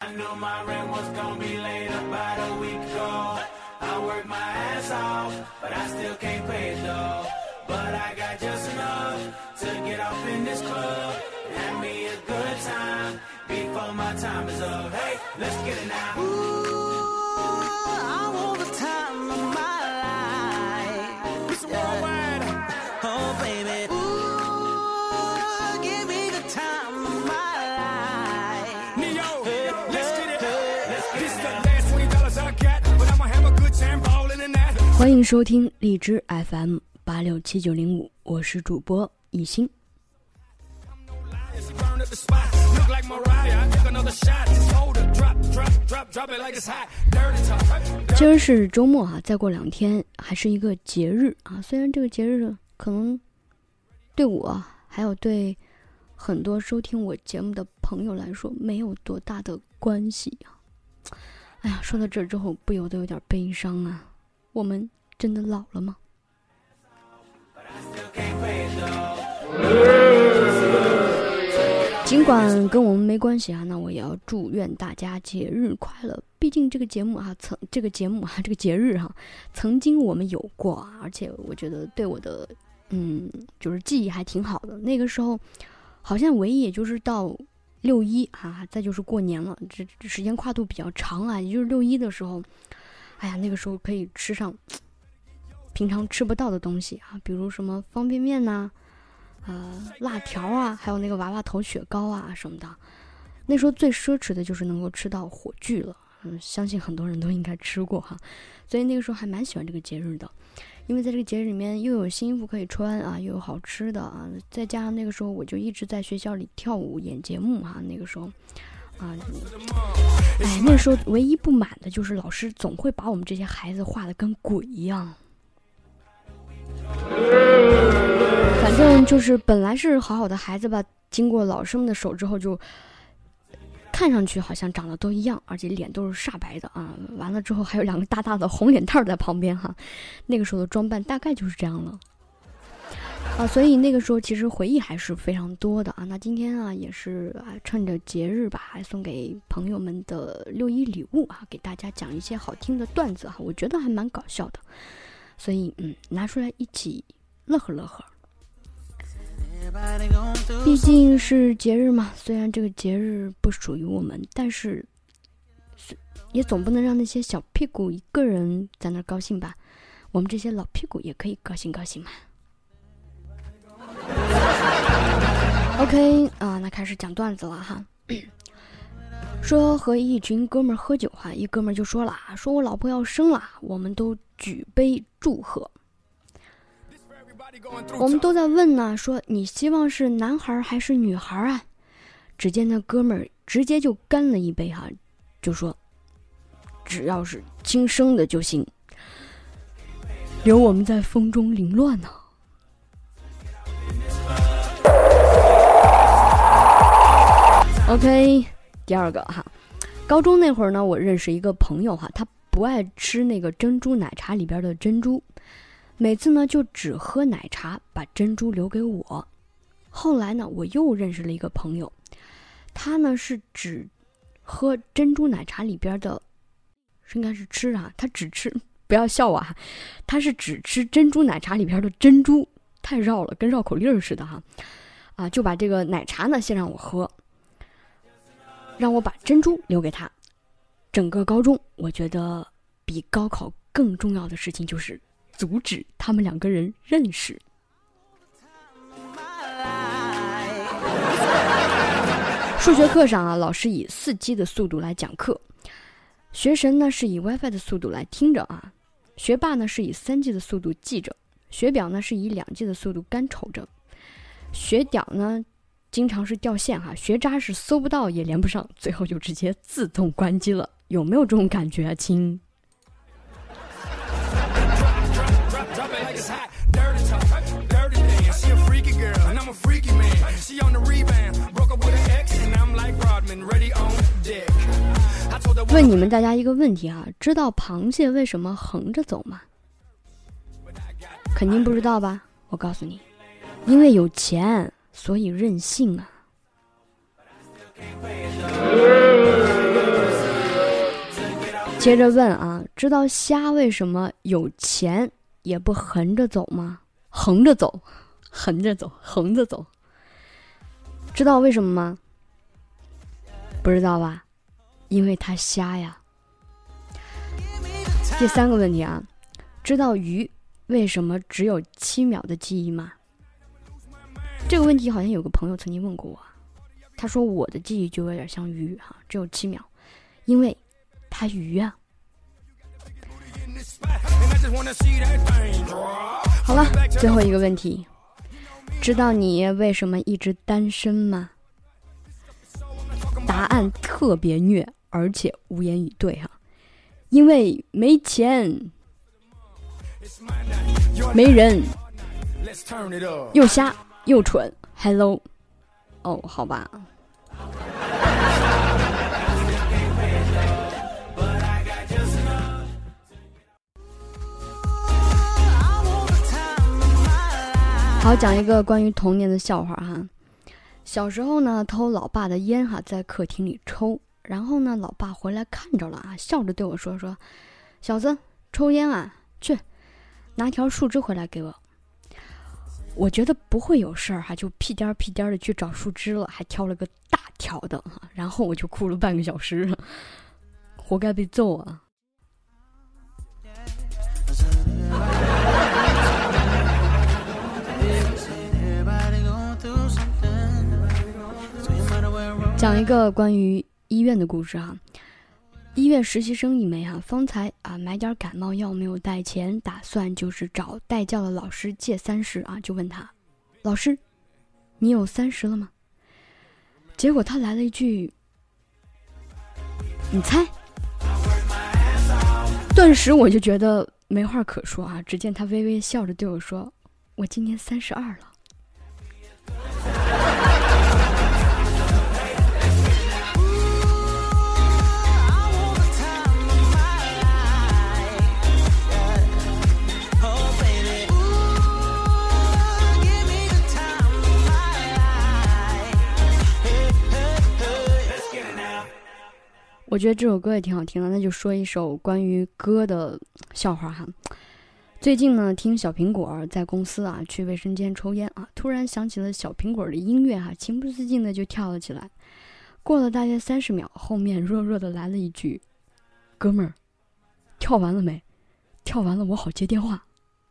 I knew my rent was gonna be late about a week ago. I worked my ass off, but I still can't pay it though. But I got just enough to get off in this club and have me a good time before my time is up. Hey, let's get it now. Ooh, I want the time of my life. It's worldwide. Oh, baby. Ooh, give me the time of my life. Neo, let's get it. This is the last $20 I got, but I'ma have a good time ballin' in that. 欢迎收听荔枝 FM867905，我是主播一心。今儿是周末啊，再过2天还是一个节日啊。虽然这个节日可能对我还有对很多收听我节目的朋友来说没有多大的关系啊。哎呀，说到这之后不由得有点悲伤啊。我们真的老了吗？尽管跟我们没关系啊，那我也要祝愿大家节日快乐。毕竟这个节目啊，这个节日哈，曾经我们有过啊，而且我觉得对我的就是记忆还挺好的。那个时候好像唯一也就是到6·1啊，再就是过年了，这时间跨度比较长啊，也就是6·1的时候，哎呀，那个时候可以吃上平常吃不到的东西啊，比如什么方便面呐、辣条啊，还有那个娃娃头雪糕啊什么的。那时候最奢侈的就是能够吃到火炬了，相信很多人都应该吃过哈。所以那个时候还蛮喜欢这个节日的，因为在这个节日里面又有新衣服可以穿啊，又有好吃的啊，再加上那个时候我就一直在学校里跳舞演节目哈。那个时候啊，那时候唯一不满的就是老师总会把我们这些孩子画得跟鬼一样。反正就是本来是好好的孩子吧，经过老师们的手之后，就看上去好像长得都一样，而且脸都是煞白的啊。完了之后还有2个大大的红脸蛋在旁边哈。那个时候的装扮大概就是这样了啊，所以那个时候其实回忆还是非常多的啊。那今天啊也是趁着节日吧，还送给朋友们的6·1礼物啊，给大家讲一些好听的段子啊，我觉得还蛮搞笑的，所以拿出来一起乐呵乐呵。毕竟是节日嘛，虽然这个节日不属于我们，但是也总不能让那些小屁股一个人在那高兴吧，我们这些老屁股也可以高兴高兴嘛。OK 啊，那开始讲段子了哈。说和一群哥们儿喝酒哈，一哥们儿就说了，说我老婆要生了，我们都举杯祝贺。我们都在问呢，说你希望是男孩还是女孩啊？只见那哥们儿直接就干了一杯哈，就说只要是亲生的就行，留我们在风中凌乱呢。OK， 第2个哈，高中那会儿呢，我认识一个朋友哈，他不爱吃那个珍珠奶茶里边的珍珠。每次呢就只喝奶茶，把珍珠留给我。后来呢我又认识了一个朋友，他呢是只喝珍珠奶茶里边的，应该是吃啊，他只吃，不要笑我啊，他是只吃珍珠奶茶里边的珍珠，太绕了，跟绕口令似的哈。就把这个奶茶呢先让我喝，让我把珍珠留给他。整个高中我觉得比高考更重要的事情就是阻止他们2个人认识。数学课上啊，老师以4G 的速度来讲课，学神呢是以 WiFi 的速度来听着啊，学霸呢是以3G 的速度记着，学表呢是以2G 的速度干瞅着，学屌呢经常是掉线哈，学渣是搜不到也连不上，最后就直接自动关机了。有没有这种感觉啊，亲？问你们大家一个问题啊，知道螃蟹为什么横着走吗？肯定不知道吧？我告诉你，因为有钱，所以任性啊。 接着问啊，知道虾为什么有钱也不横着走吗？横着走，横着走，横着走。知道为什么吗？不知道吧？因为它瞎呀。第3个问题啊，知道鱼为什么只有7秒的记忆吗？这个问题好像有个朋友曾经问过我，他说我的记忆就有点像鱼哈，只有7秒，因为它鱼啊。好了，最后一个问题，知道你为什么一直单身吗？答案特别虐，而且无言以对哈，因为没钱，没人，又瞎又蠢 ，Hello， 哦，好吧。好，讲一个关于童年的笑话哈。小时候呢，偷老爸的烟哈，在客厅里抽，然后呢，老爸回来看着了啊，笑着对我说：“小子，抽烟啊，去拿条树枝回来给我。”我觉得不会有事儿哈，就屁颠儿屁颠儿的去找树枝了，还挑了个大条的哈，然后我就哭了半个小时，活该被揍啊！讲一个关于医院的故事哈。医院实习生一枚哈，方才买点感冒药没有带钱，打算就是找带教的老师借30啊，就问他，老师，你有30了吗？结果他来了一句，你猜。顿时我就觉得没话可说啊，只见他微微笑着对我说，我今年32了。我觉得这首歌也挺好听的，那就说一首关于歌的笑话哈。最近呢，听小苹果在公司啊去卫生间抽烟啊，突然想起了小苹果的音乐哈，情不自禁的就跳了起来。过了大约30秒，后面弱弱的来了一句：“哥们儿，跳完了没？跳完了我好接电话。”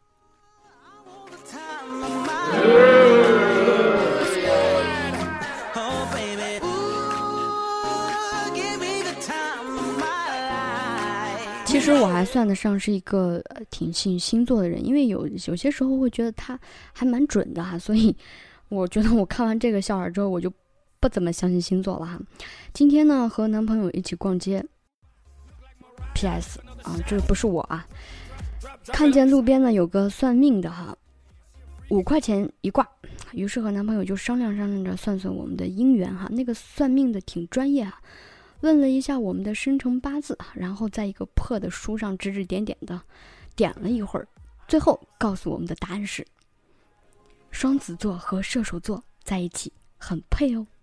其实我还算得上是一个挺信星座的人，因为有些时候会觉得他还蛮准的哈，所以我觉得我看完这个笑话之后，我就不怎么相信星座了哈。今天呢，和男朋友一起逛街 ，PS 啊，这个不是我啊，看见路边呢有个算命的哈，5块钱一卦，于是和男朋友就商量着算我们的姻缘哈。那个算命的挺专业哈。问了一下我们的生辰8字，然后在一个破的书上指指点点的点了一会儿，最后告诉我们的答案是双子座和射手座在一起很配哦。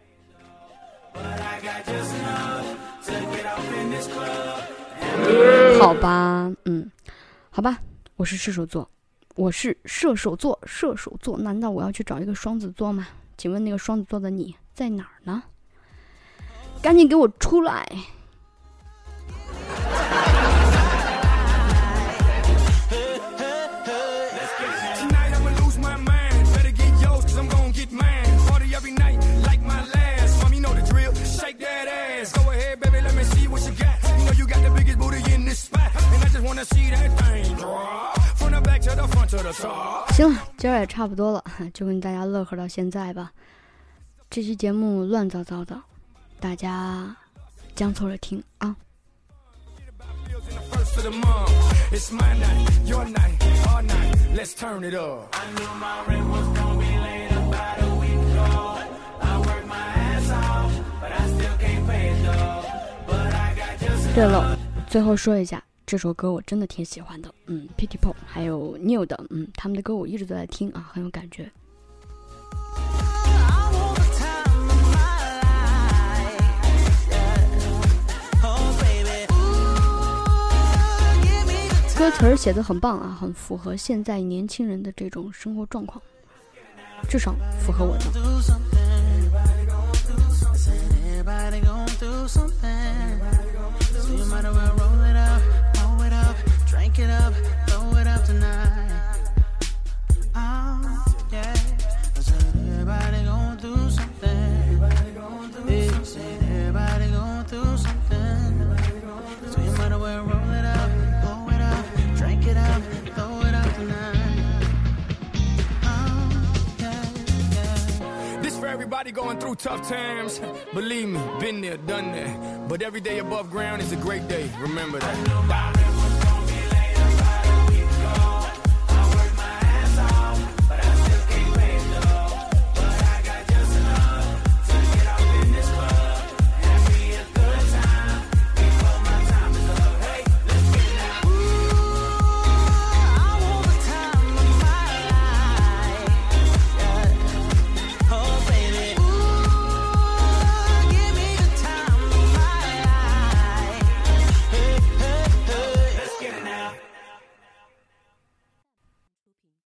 好吧，好吧，我是射手座，射手座，难道我要去找一个双子座吗？请问那个双子座的你在哪儿呢？赶紧给我出来！行了，今儿也差不多了，就跟大家乐呵到现在吧。这期节目乱糟糟的，大家将错了听啊。对了，最后说一下，这首歌我真的挺喜欢的，Pity Pop 还有 New 的，他们的歌我一直都在听啊，很有感觉。 歌词儿写得很棒啊，很符合现在年轻人的这种生活状况，至少符合我的。 Everybody going through tough times. Believe me, been there, done that. But every day above ground is a great day. Remember that.